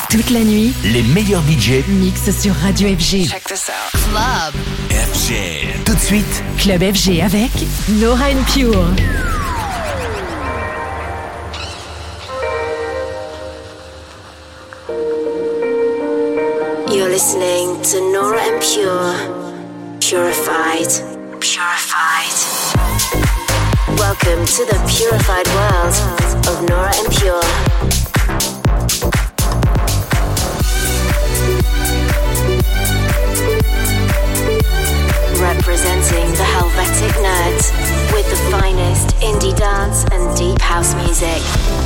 Toute la nuit, les meilleurs DJ mixent sur Radio FG. Check this out. Club FG. Tout de suite, Club FG avec Nora En Pure. You're listening to Nora En Pure. Purified. Welcome to the purified world of Nora En Pure. Representing the Helvetic Nerds with the finest indie dance and deep house music.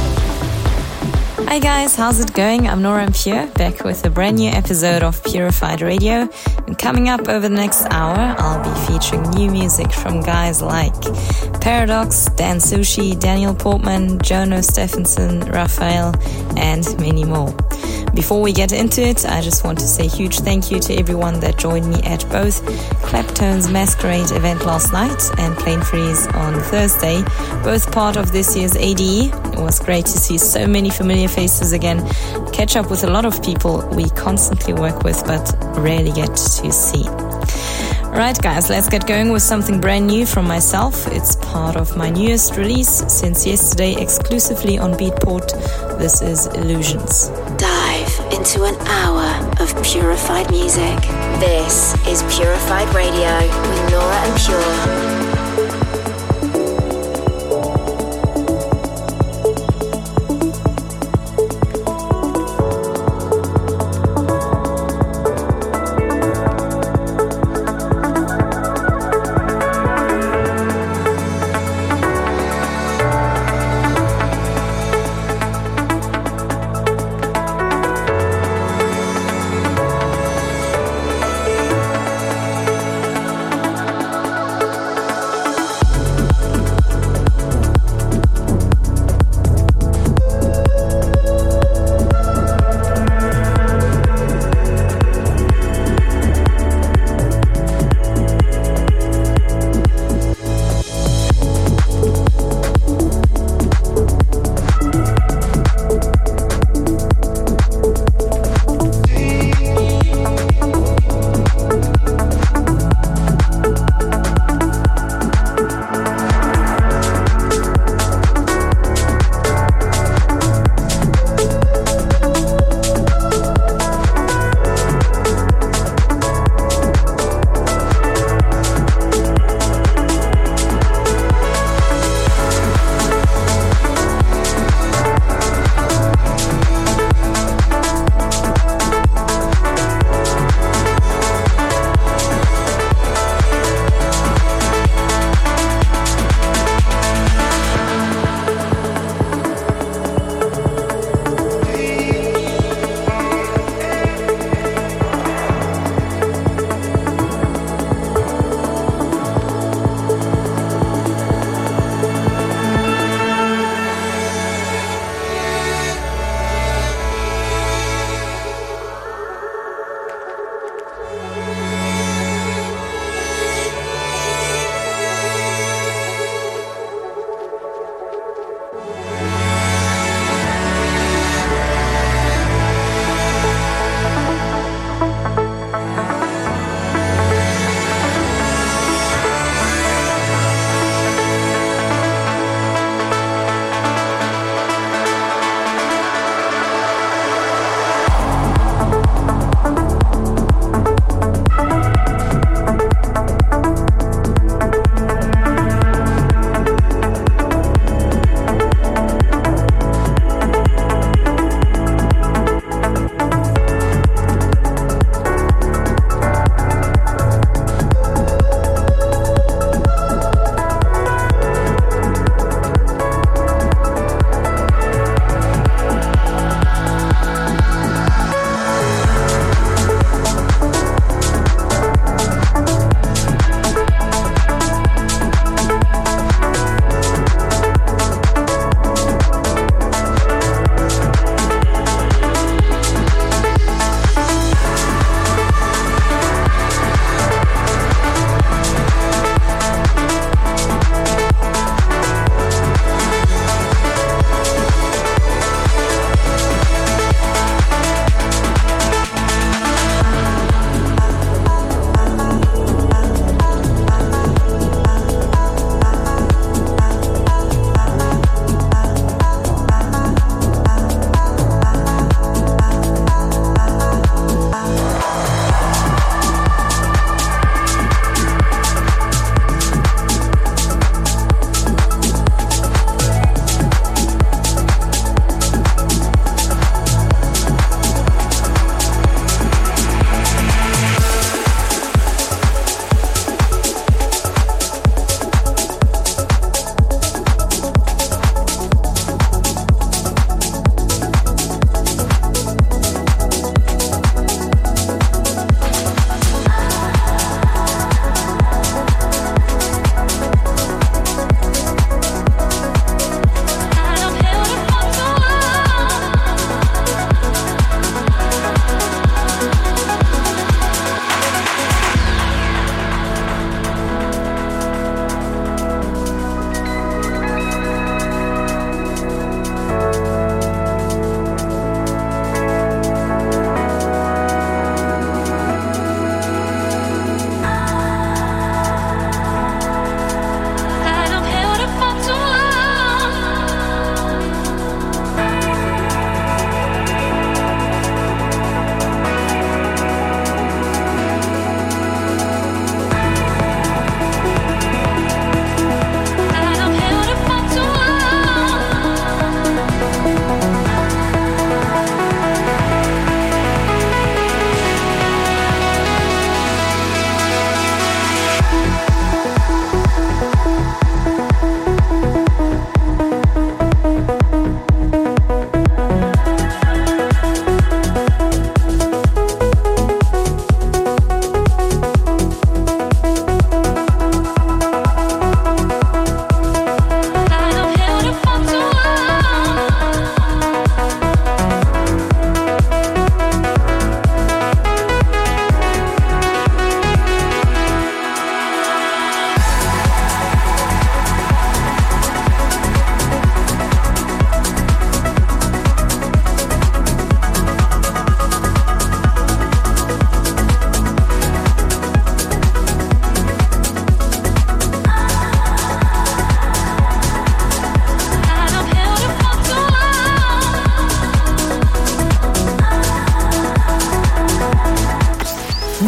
Hi guys, how's it going? I'm Nora En Pure, back with a brand new episode of Purified Radio. And coming up over the next hour, I'll be featuring new music from guys like Paradox, Dan Sushi, Daniel Portman, Jono Stephenson, Raphael, and many more. Before we get into it, I just want to say a huge thank you to everyone that joined me at both Claptone's Masquerade event last night and Plain Freeze on Thursday, both part of this year's ADE. It was great to see so many familiar faces again, catch up with a lot of people we constantly work with but rarely get to see. Alright guys, let's get going with something brand new from myself. It's part of my newest release since yesterday, exclusively on Beatport. This is Illusions. Dive into an hour of purified music. This is Purified Radio with Nora En Pure.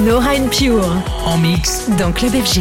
Nora and Pure en mix dans Club FG.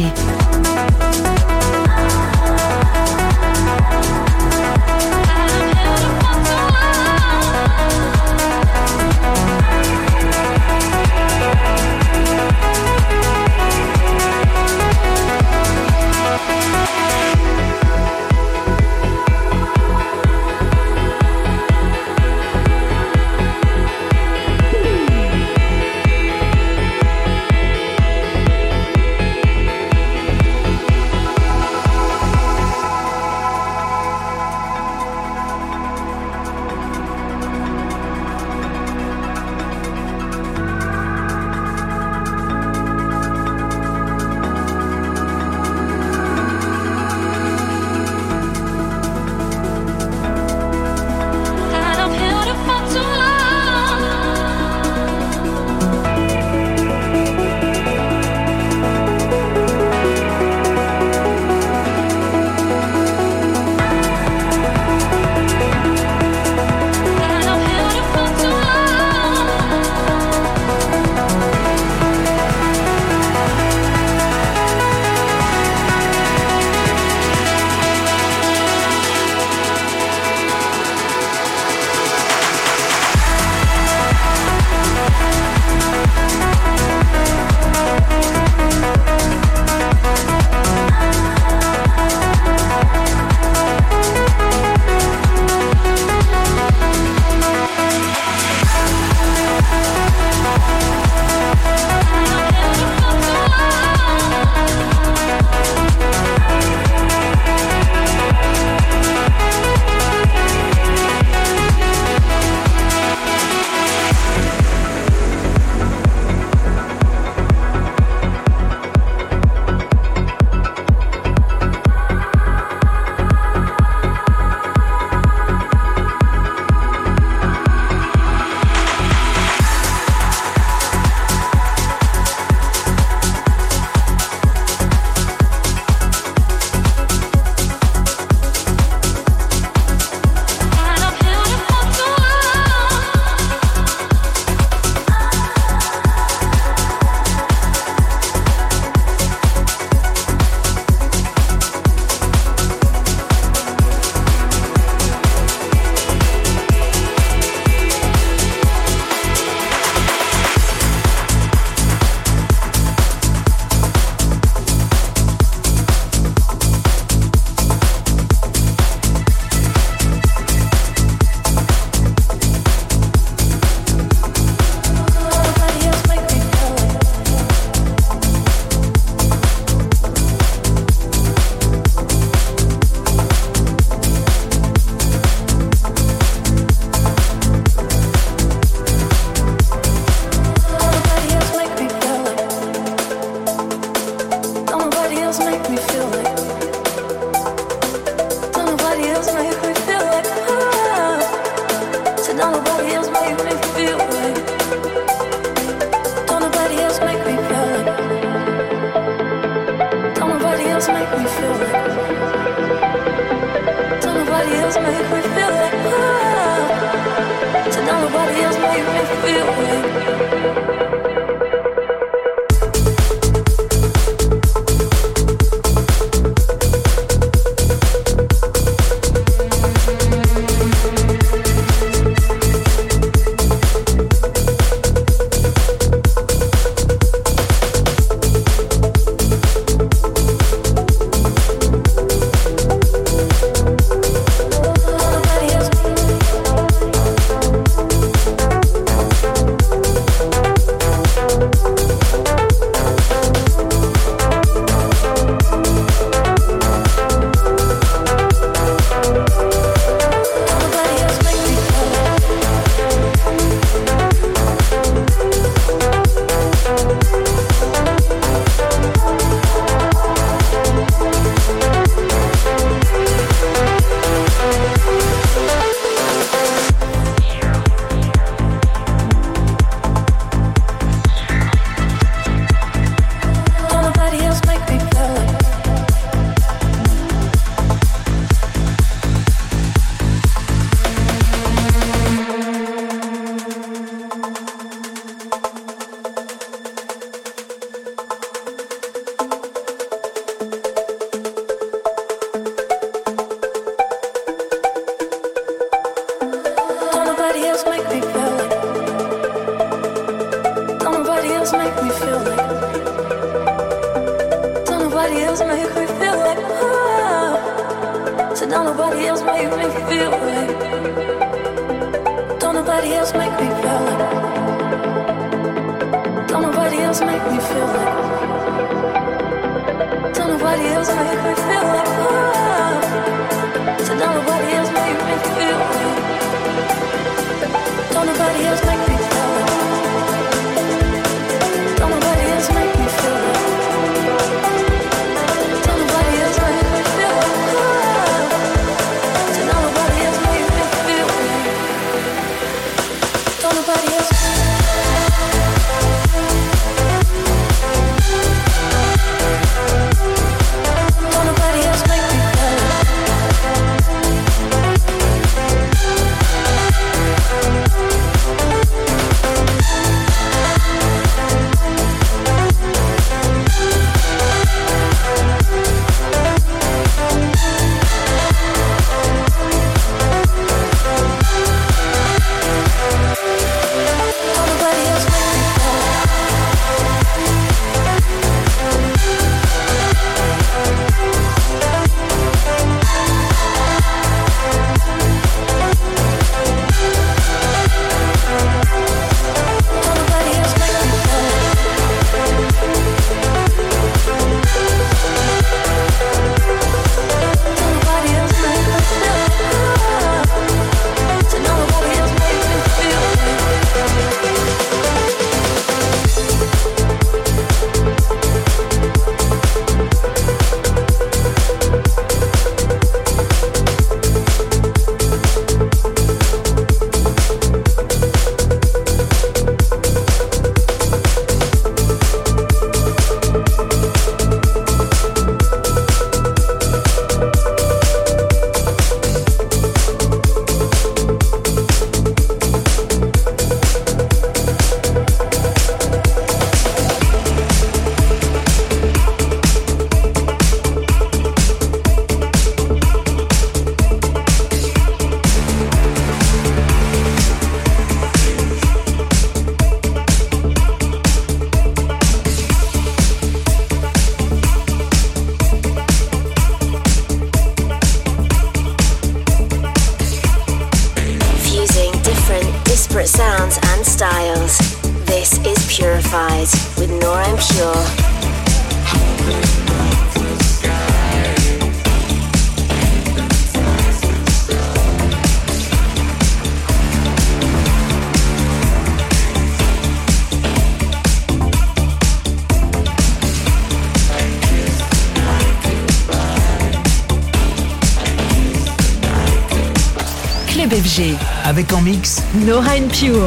FG. Avec en mix Nora En Pure.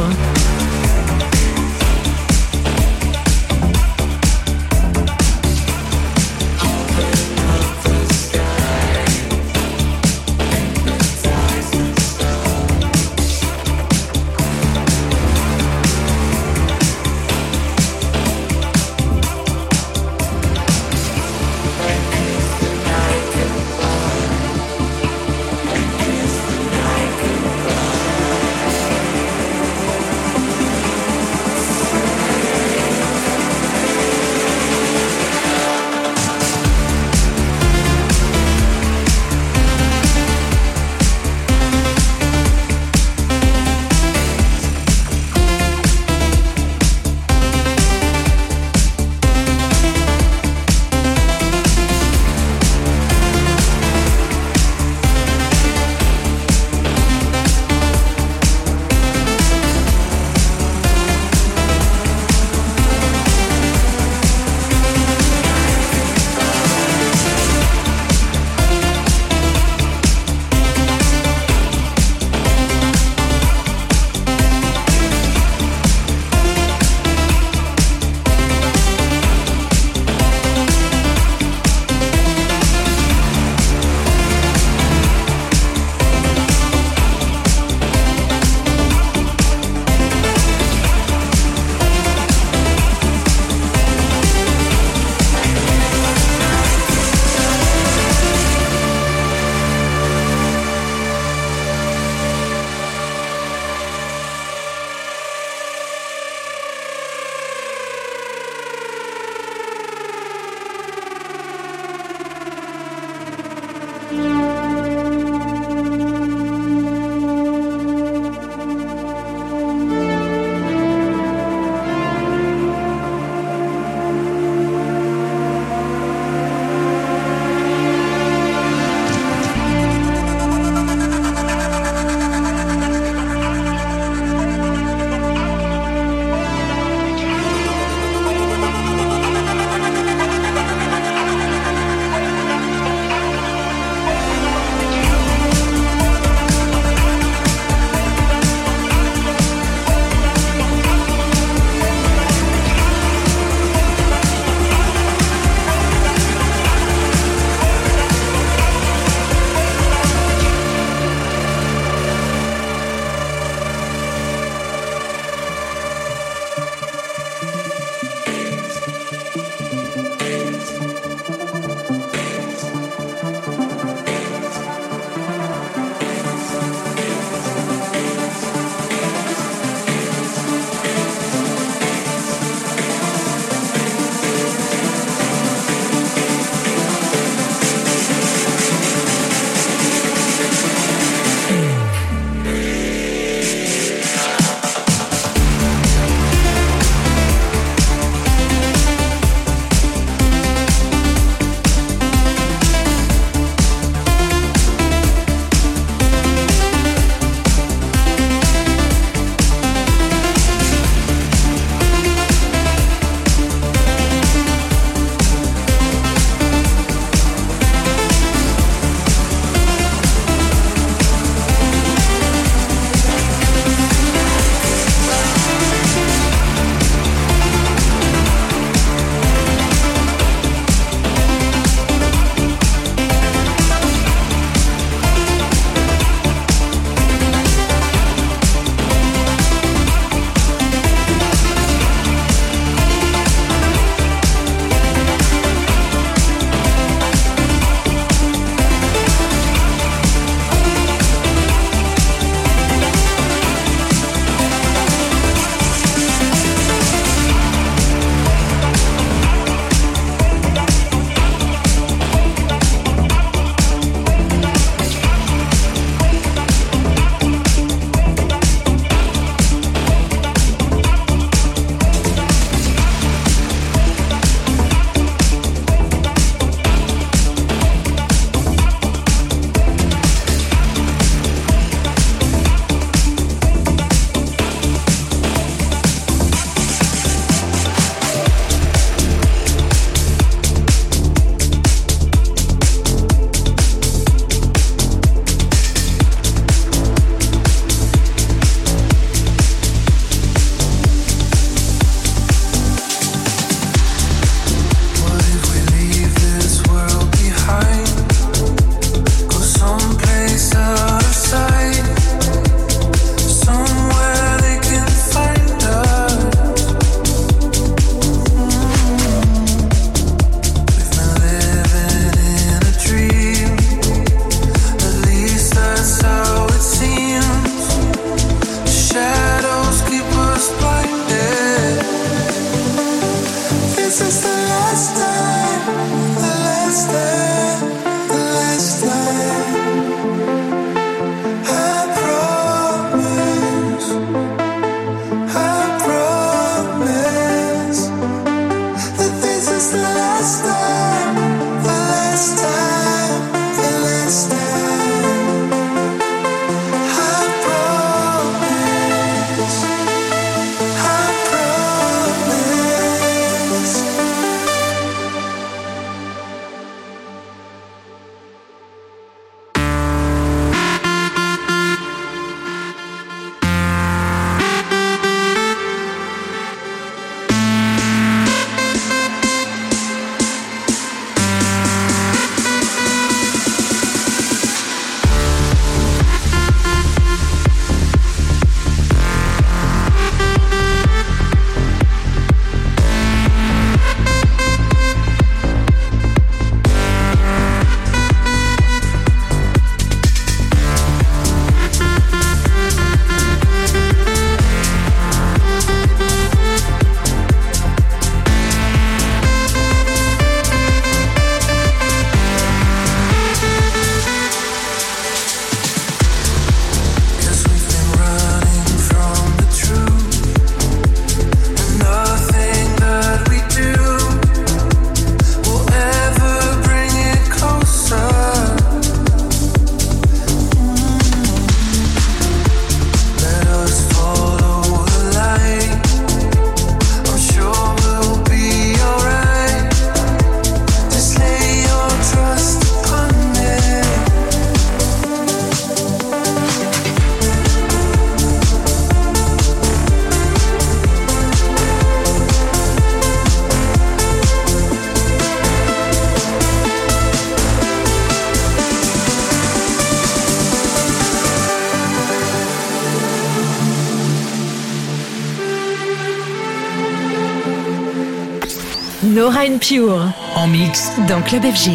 Nora En Pure en mix dans Club FG.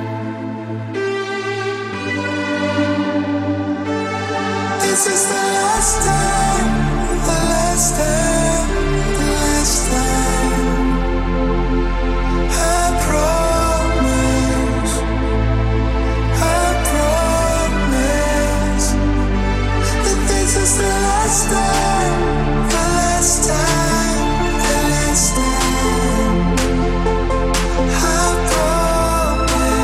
This is the last time, the last time, the last time. I promise that this is the last time, the last time, the last time. I promise.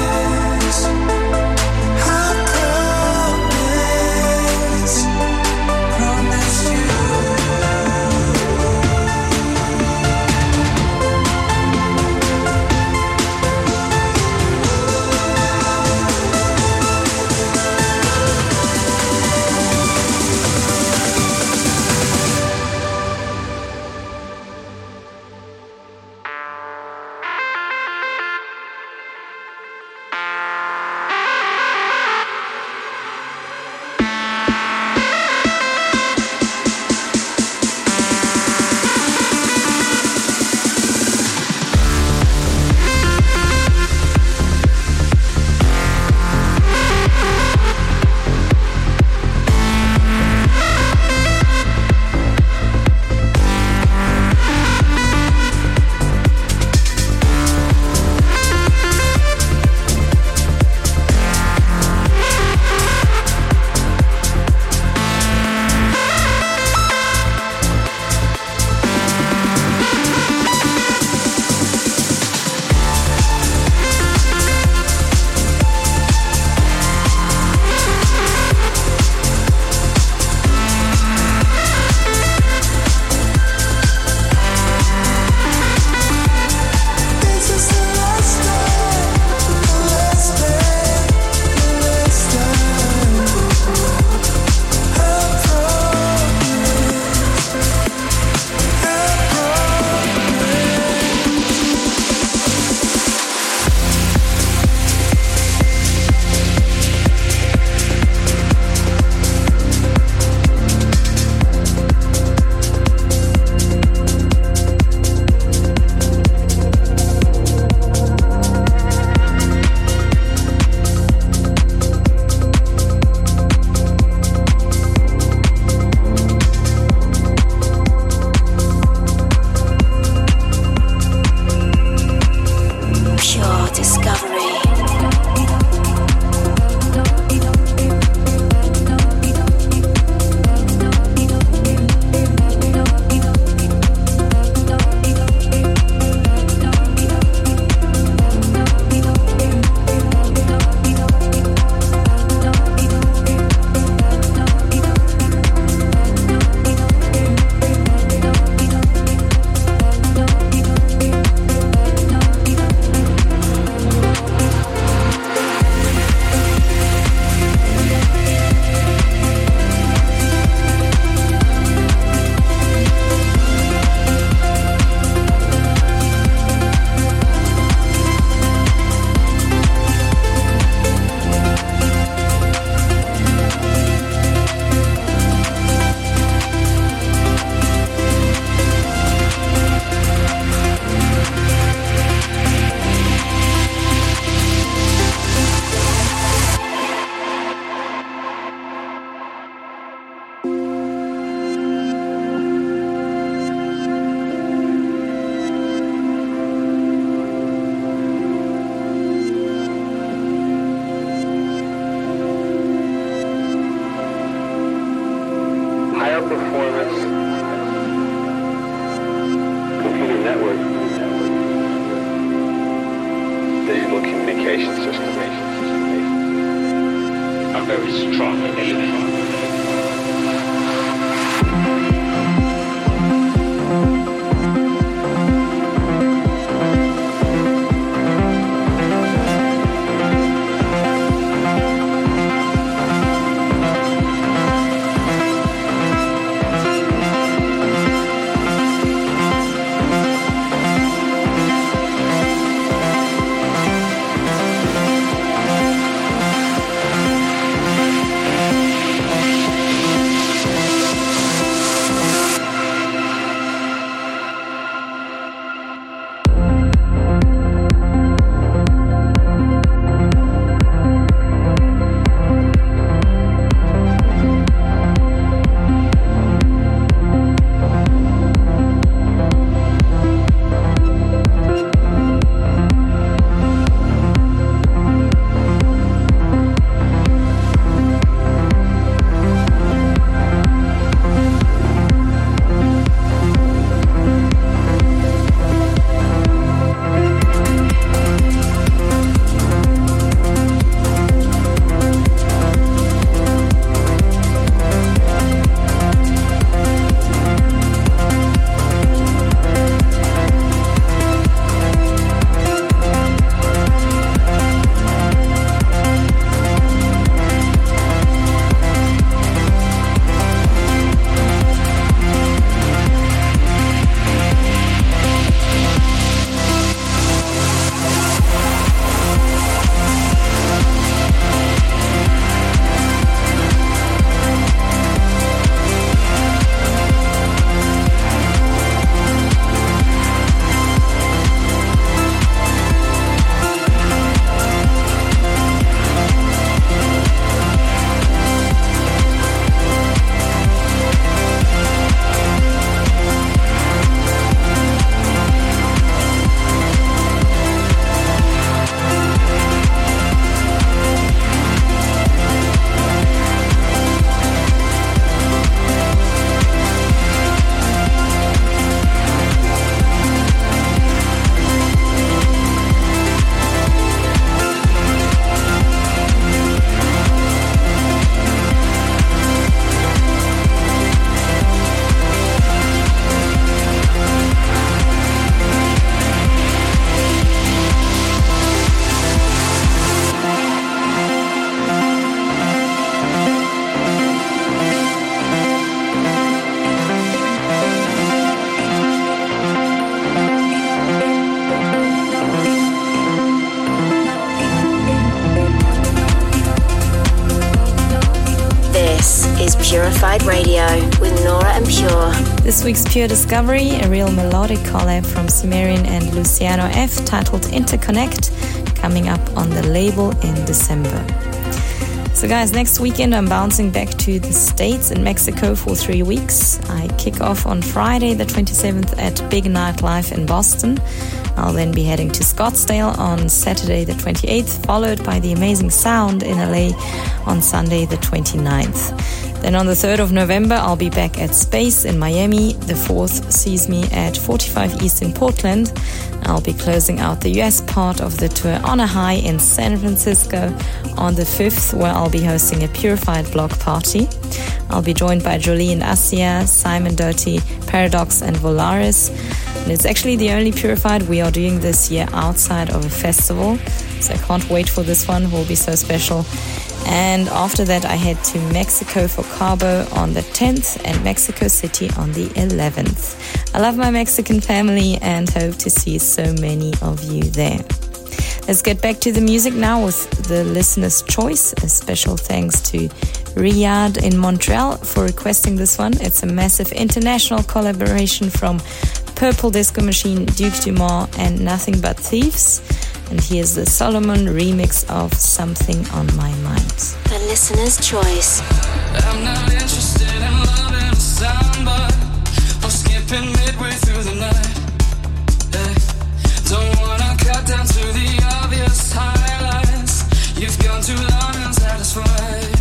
Purified Radio with Nora En Pure. This week's Pure Discovery, a real melodic collab from Cimmerian and Luciano F, titled Interconnect, coming up on the label in December. So guys, next weekend I'm bouncing back to the States in Mexico for 3 weeks. I kick off on Friday the 27th at Big Night Live in Boston. I'll then be heading to Scottsdale on Saturday the 28th, followed by the Amazing Sound in LA on Sunday the 29th. Then on the 3rd of November, I'll be back at Space in Miami. The 4th sees me at 45 East in Portland. I'll be closing out the US part of the tour on a high in San Francisco on the 5th, where I'll be hosting a Purified block party. I'll be joined by Jolie and Asia, Simon Doty, Paradox and Volaris. And it's actually the only Purified we are doing this year outside of a festival. So I can't wait for this one, it will be so special. And after that, I head to Mexico for Cabo on the 10th and Mexico City on the 11th. I love my Mexican family and hope to see so many of you there. Let's get back to the music now with the listener's choice. A special thanks to Riyadh in Montreal for requesting this one. It's a massive international collaboration from Purple Disco Machine, Duke Dumont and Nothing But Thieves. And here's the Solomon remix of Something on My Mind. The listener's choice. I'm not interested in loving a samba or skipping midway through the night. Hey. Don't wanna cut down to the obvious highlights. You've gone too long unsatisfied.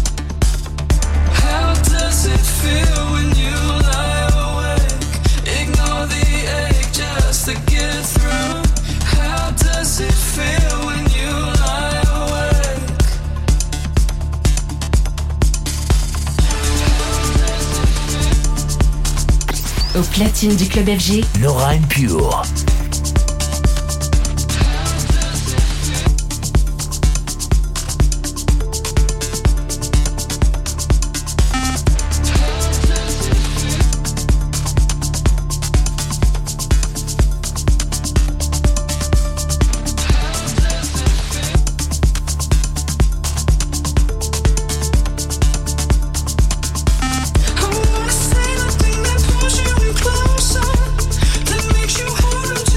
How does it feel when you lie awake? Ignore the ache just to get through. How does it feel when you lie awake? Au platine du club FG, Nora En Pure. I wanna say the thing that pulls you in closer, that makes you hold on to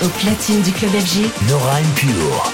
Au platine du club FG, Nora En Pure.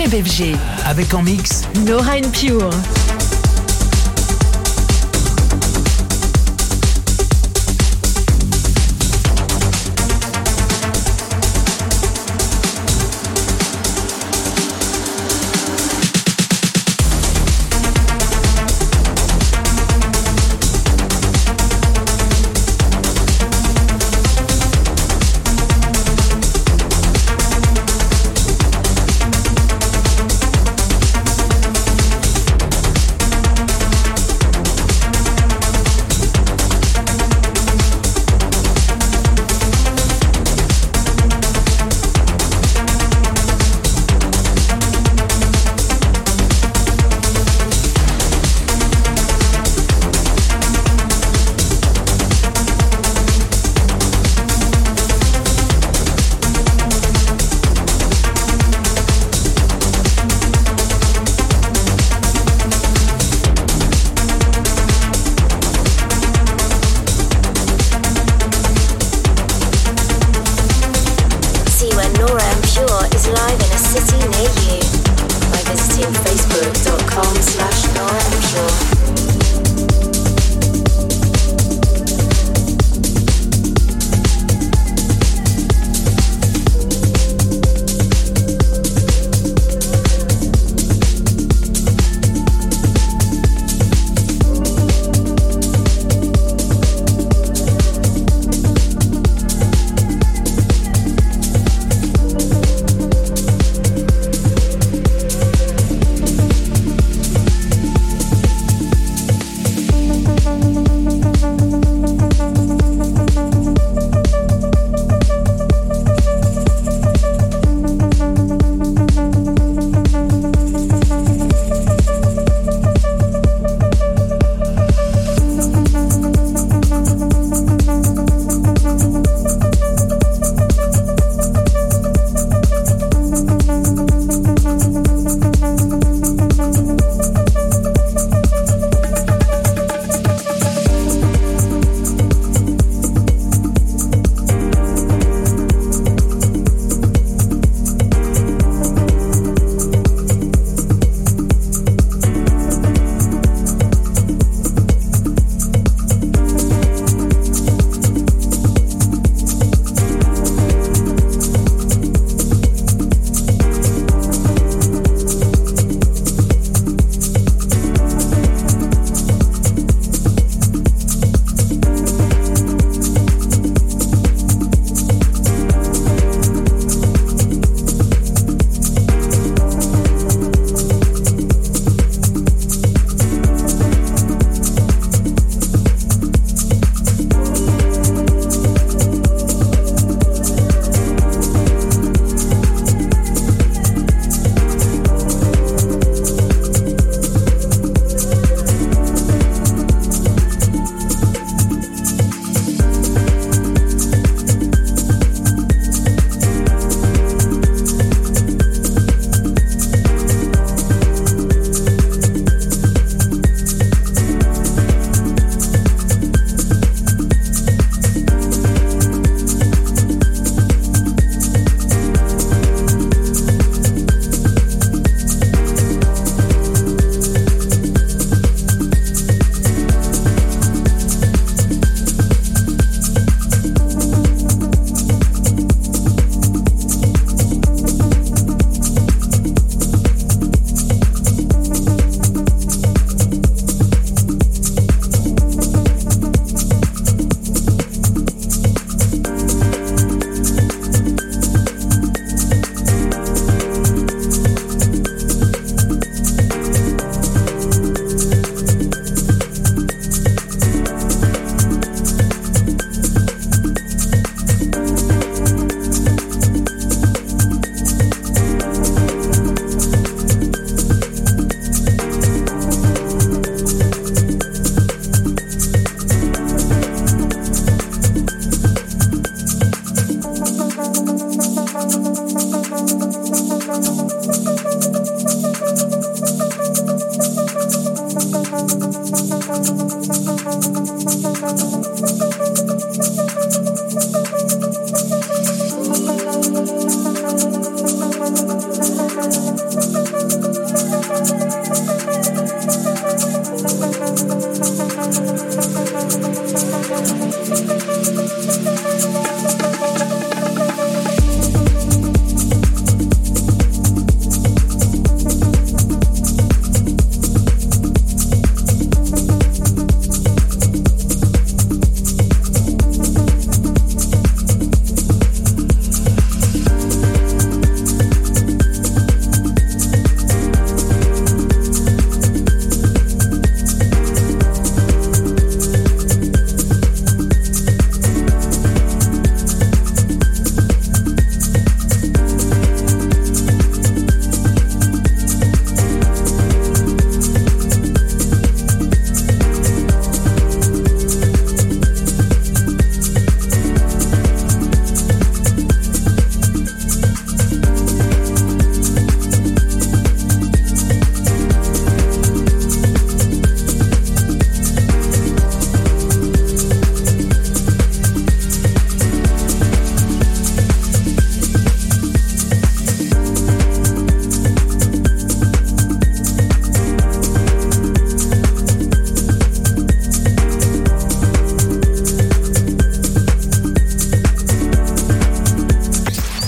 Club FG. Avec en mix Nora En Pure.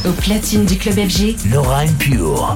Au platine du club FG, Nora En Pure.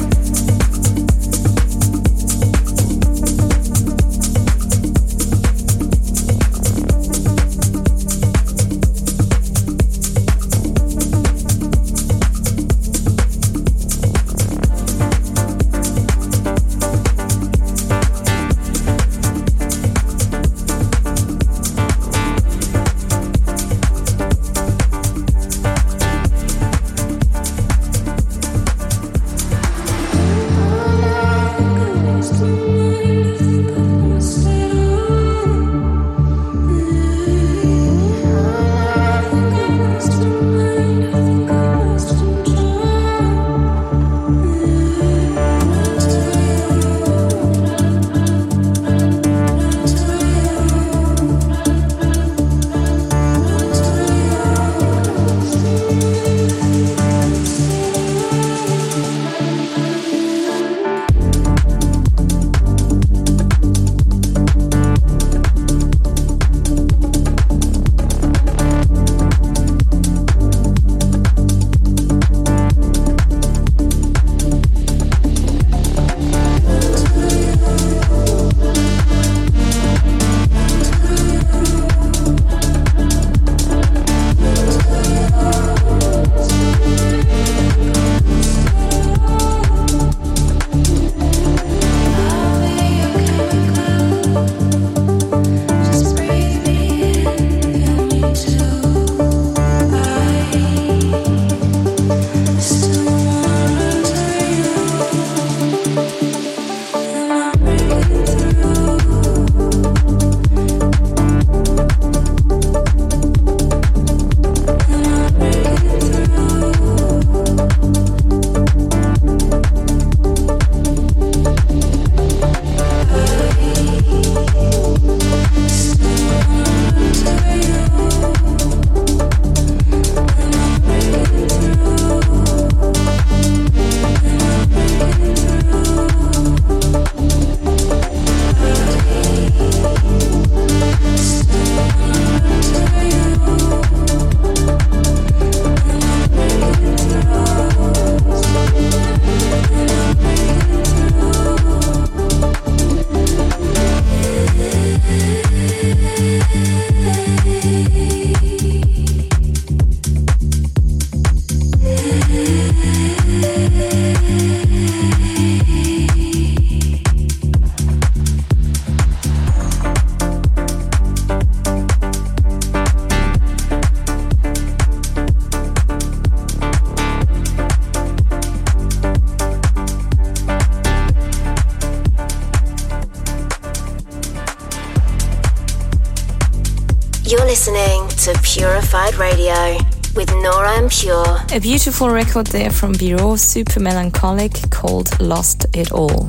You're listening to Purified Radio with Nora En Pure. A beautiful record there from Bureau, super melancholic, called Lost It All.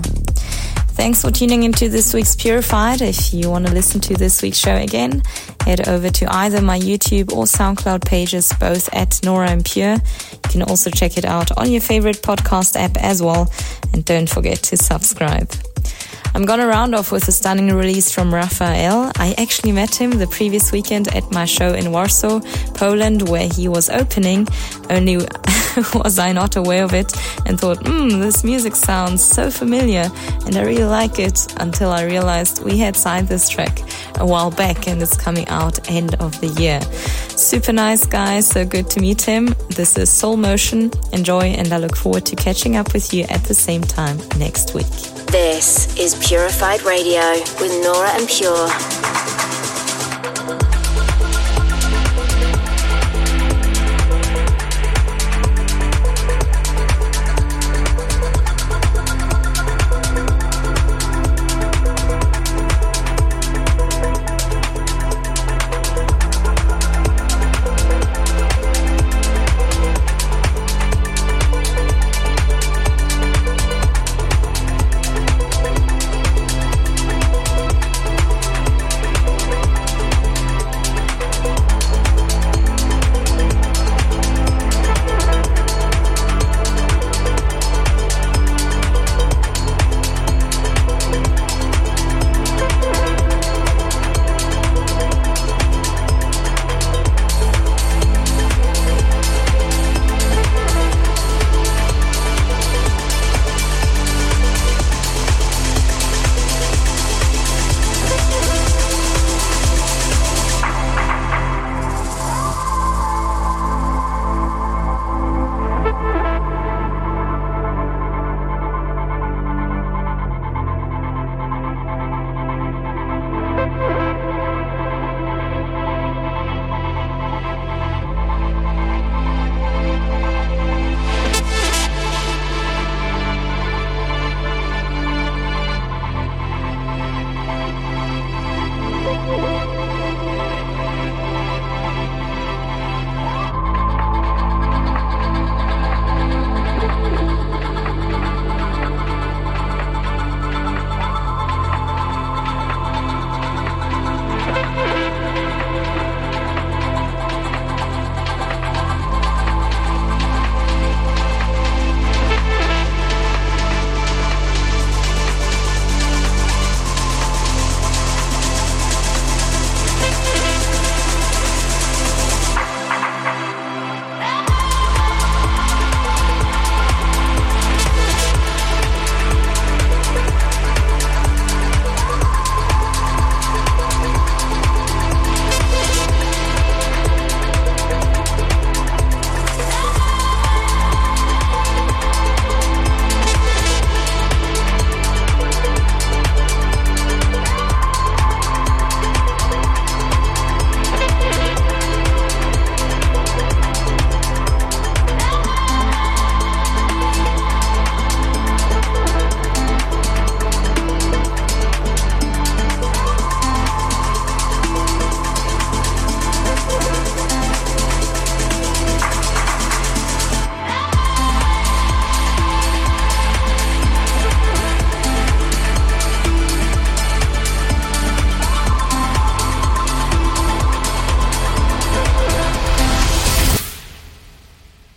Thanks for tuning into this week's Purified. If you want to listen to this week's show again, head over to either my YouTube or SoundCloud pages, both at Nora En Pure. You can also check it out on your favorite podcast app as well. And don't forget to subscribe. I'm gonna round off with a stunning release from Raphael. I actually met him the previous weekend at my show in Warsaw, Poland, where he was opening. Only was I not aware of it and thought, this music sounds so familiar and I really like it, until I realized we had signed this track a while back and it's coming out end of the year. Super nice guy, so good to meet him. This is Soul Motion. Enjoy, and I look forward to catching up with you at the same time next week. This is Purified Radio with Nora En Pure.